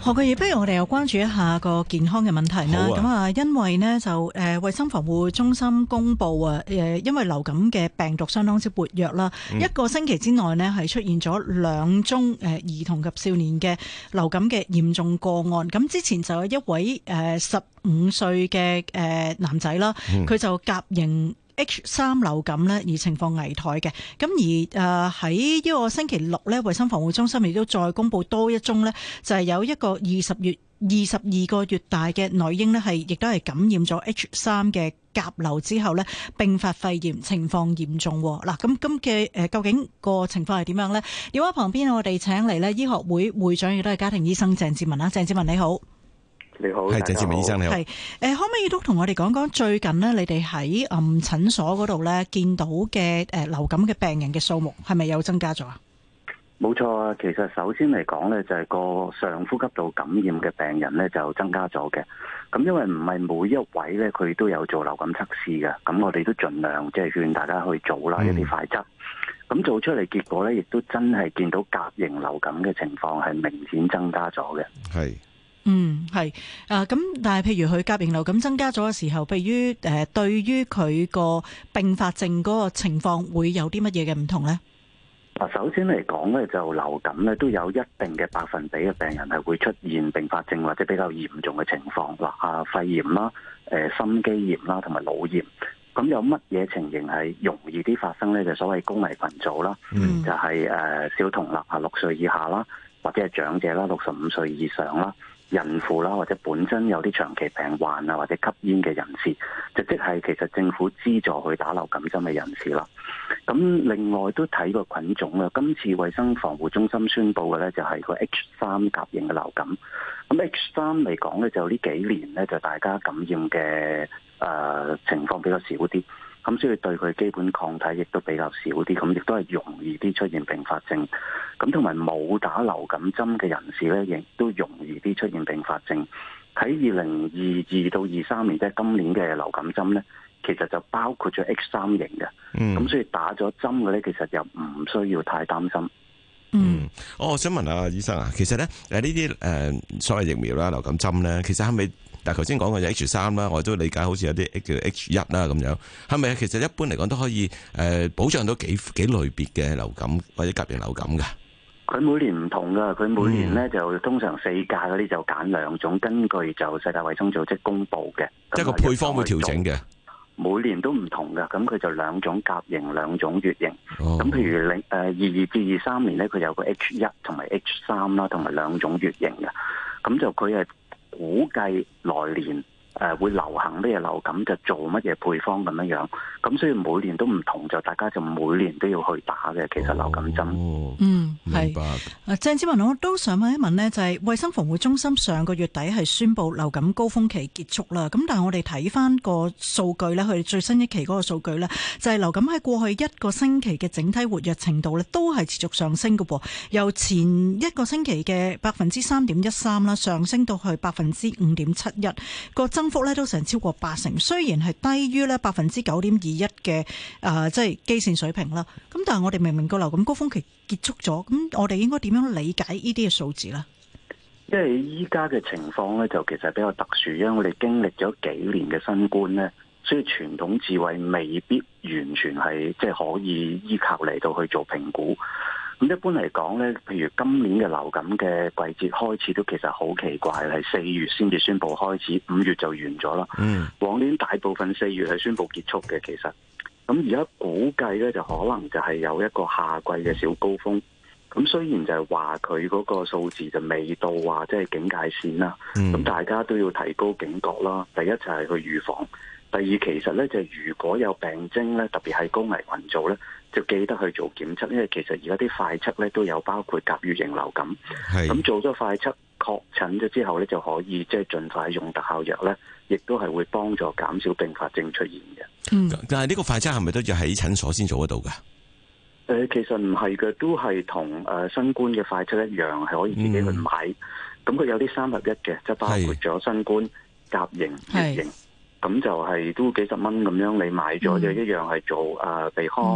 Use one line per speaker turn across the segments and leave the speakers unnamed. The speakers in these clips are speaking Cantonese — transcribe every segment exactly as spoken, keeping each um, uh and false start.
何國義，不如我哋又關注一下個健康嘅問題啦。咁啊，因為呢，就誒，衛、呃、生防護中心公布啊，誒、呃，因為流感嘅病毒相當之活躍啦，嗯、一個星期之內呢，係出現咗兩宗誒、呃、兒童及少年嘅流感嘅嚴重個案。咁之前就有一位誒十五歲嘅誒男仔啦，佢、嗯、就甲型H 三 流感咧，而情況危殆嘅。咁而誒喺呢個星期六咧，衛生防護中心亦都再公布多一宗咧，就係有一個二十月二十二個月大嘅女嬰咧，係亦都係感染咗 H 三 嘅甲流之後咧，併發肺炎，情況嚴重。嗱，咁咁嘅誒，究竟個情況係點樣咧？電話旁邊我哋請嚟咧，醫學會會長亦都係家庭醫生鄭志文啦。鄭志文你好。
你好，
係
鄭志文醫生你好。
係誒，可唔可以都同我哋講講最近呢？你哋喺嗯診所嗰度咧見到嘅誒流感嘅病人嘅數目係咪有增加咗啊？
冇錯啊，其實首先嚟講咧，就係個上呼吸道感染嘅病人咧就增加咗嘅。咁因為唔係每一位咧佢都有做流感測試嘅，咁我哋都盡量即係勸大家去做啦、嗯、一啲快測。咁做出嚟結果咧，亦都真係見到甲型流感嘅情況係明顯增加咗嘅。
係。嗯，係啊，咁但係譬如佢甲型流感增加咗嘅時候，譬如誒、呃，對於佢個併發症嗰個情況會有啲乜嘢嘅唔同咧？
啊，首先嚟講咧，就流感咧都有一定嘅百分比嘅病人係會出現併發症或者比較嚴重嘅情況，嗱啊，肺炎啦、誒、呃、心肌炎啦同埋腦炎。咁有乜嘢情形係容易啲發生咧？就所謂高危群組啦，嗯、就係、是、誒、呃、小童啦，啊六歲以下啦，或者係長者啦，六十五歲以上啦。孕婦啦，或者本身有啲長期病患啊，或者吸煙嘅人士，就即係其實政府資助去打流感針嘅人士啦。咁另外都睇個菌種啦，今次衛生防護中心宣布嘅咧就係個 H 三 甲型嘅流感。咁 H 三嚟講咧，就呢幾年咧就大家感染嘅誒、呃、情況比較少啲。咁所以對佢基本抗體亦都比較少啲，咁亦都係容易啲出現併發症。咁同埋冇打流感針嘅人士咧，亦都容易啲出現併發症。喺二零二二到二三年，即係今年嘅流感針咧，其實就包括咗 H 三型嘅。嗯，咁所以打咗針嘅咧，其實又唔需要太擔心。
嗯，我想問下醫生啊，其實咧誒呢啲誒所謂疫苗啦、流感針咧，其實係咪？但係頭先講嘅就 H 三啦，我都理解好似有啲叫 H 一啦咁樣，係咪其實一般嚟講都可以誒保障到幾幾類別嘅流感或者甲型流感㗎？
佢每年唔同㗎，佢每年咧就通常四價嗰啲就揀兩種，根據就世界衛生組織公布嘅，
即係個配方會調整嘅。
每年都唔同㗎，咁佢就兩種甲型、兩種乙型。咁、哦、譬如零誒二二至二三年咧，佢有個 H 一同埋 H 三啦，同埋兩種乙型嘅，咁就佢係估計來年誒會流行咩流感，就做乜嘢配方咁樣樣，咁所以每年都唔同，就大家就每年都要去打嘅。其實流感針，
哦、嗯係。明白。啊，鄭志文，我都想問一問呢，就係、是、衛生防護中心上個月底係宣布流感高峰期結束啦。咁但係我哋睇翻個數據呢，佢哋最新一期嗰個數據呢，就係、是、流感喺過去一個星期嘅整體活躍程度呢，都係持續上升嘅噃。由前一個星期嘅百分之三點一三啦，上升到去百分之五點七一，個增幅咧都成超過八成。雖然係低於咧百分之九點二一嘅誒，即係基線水平啦。咁但係我哋明明個流感高峰期結束咗，咁我哋應該點樣理解呢啲嘅數字呢？
因為依家嘅情況咧，就其實比較特殊，因為我哋經歷咗幾年嘅新冠咧，所以傳統智慧未必完全係即係可以依靠嚟到去做評估。咁一般嚟講咧，譬如今年嘅流感嘅季節開始都其實好奇怪，係四月先至宣布開始，五月就完咗啦。嗯，往年大部分四月係宣布結束嘅，其實。咁而家估計咧，就可能就係有一個夏季嘅小高峰。咁雖然就係話佢嗰個數字就未到話即係警戒線啦。咁、嗯、大家都要提高警覺啦。第一就係去預防，第二其實咧就係如果有病徵咧，特別係高危群組咧，就記得去做檢測，因為其實而家啲快測咧都有包括甲乙型流感。咁做咗快測確診咗之後咧，就可以即係盡快用特效藥咧，亦都係會幫助減少併發症出現嘅。
嗯，但係呢個快測係咪都要喺診所先做得到噶？
誒、呃，其實唔係嘅，都係同誒新冠嘅快測一樣，係可以自己去買。咁佢、嗯、有啲三合一嘅，即係包括咗新冠、甲型、乙型，咁就係都幾十蚊咁樣，你買咗就一樣係做誒鼻腔、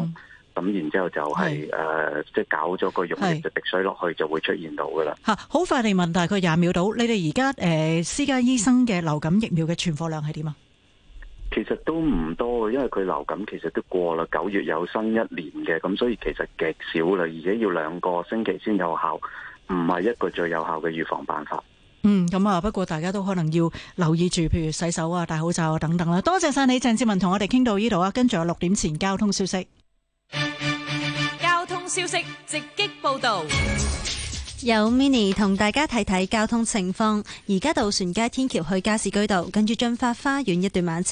咁然之後就係、是、誒、呃、即係搞咗個溶液就滴水落去就會出現到噶啦。
嚇，好快地問，大概廿秒到，你哋而家誒私家醫生嘅流感疫苗嘅存貨量係點啊？
其實都唔多，因為佢流感其實都過啦，九月有新一年嘅，咁所以其實極少啦，而且要兩個星期先有效，唔係一個最有效嘅預防辦法。
嗯，咁啊，不過大家都可能要留意住，譬如洗手啊、戴口罩啊等等啦。多謝晒你，鄭志文同我哋傾到呢度啊，跟住有六點前交通消息。
交通消息直擊報道。
有 Mini 同大家睇睇交通情況，而家渡船街天橋去加士居道，跟住駿發花園一段慢車。